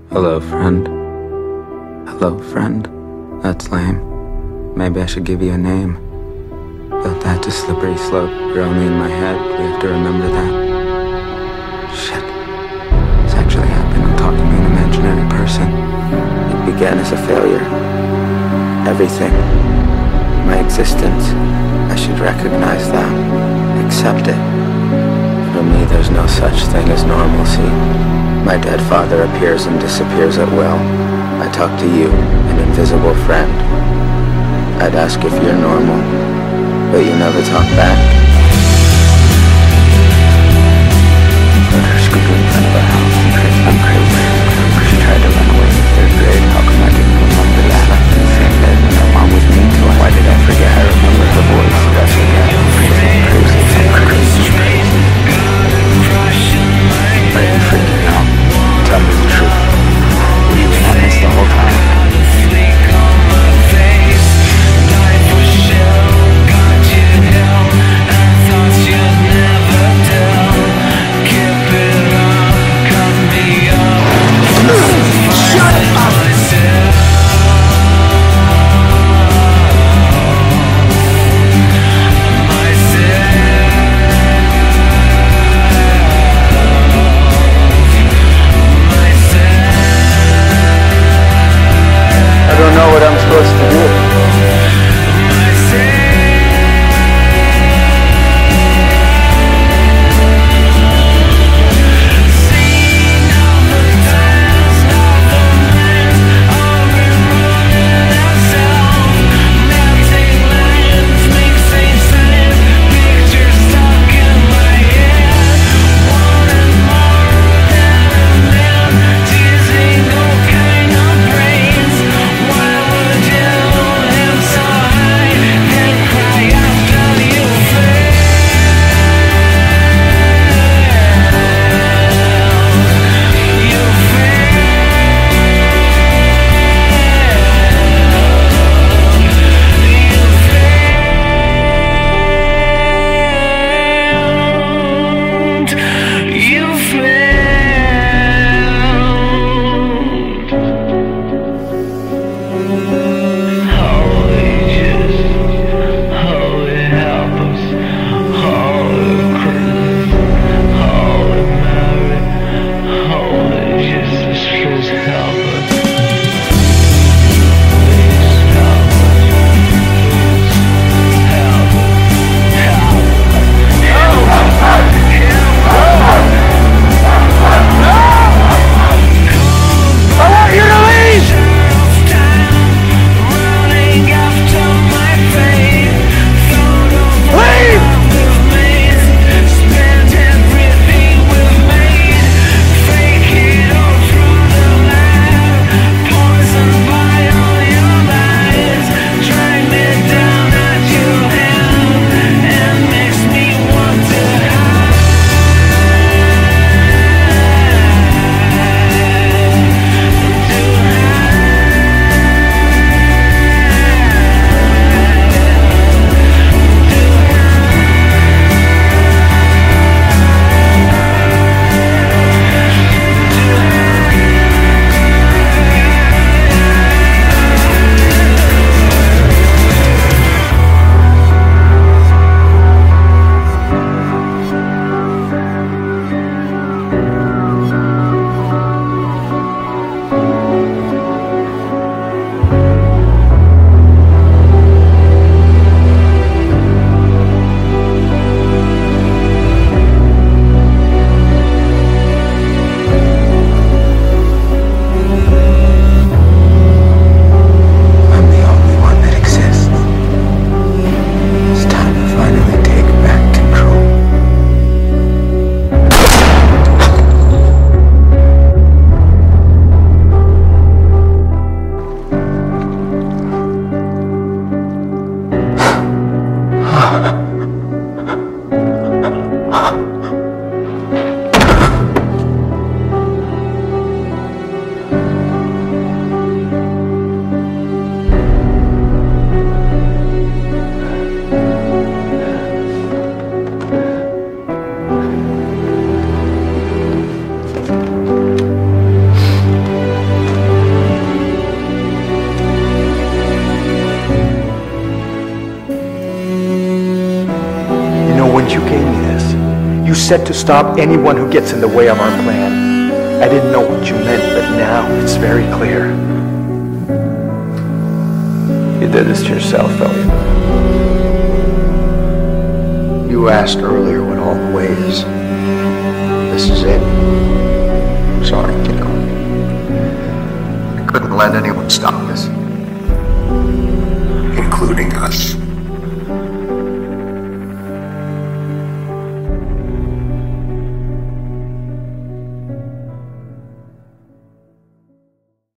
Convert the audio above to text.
Hello, friend. Hello, friend. That's lame. Maybe I should give you a name. But that's a slippery slope. You're only in my head. We have to remember that. Shit. This actually happened. I'm talking to an imaginary person. It began as a failure. Everything. My existence. I should recognize that. Accept it. For me, there's no such thing as normalcy. My dead father appears and disappears at will. I talk to you, an invisible friend. I'd ask if you're normal, but you never talk back. Let her scooter in front of our house and crazy. I'm crazy. She tried to run away in third grade. How come I didn't remember that? Slept in the same bed when her mom was mean to her. Why did I forget? I remember her voice. That's okay. I'm crazy. I'm crazy. Why are you freaking out? Tell me the truth. Were you in on this the whole time? Life was shell, got you hell. moment you gave me this, you said to stop anyone who gets in the way of our plan. I didn't know what you meant, but now it's very clear. You did this to yourself, Elliot. You asked earlier what all the way is. This is it. Sorry, kiddo. I couldn't let anyone stop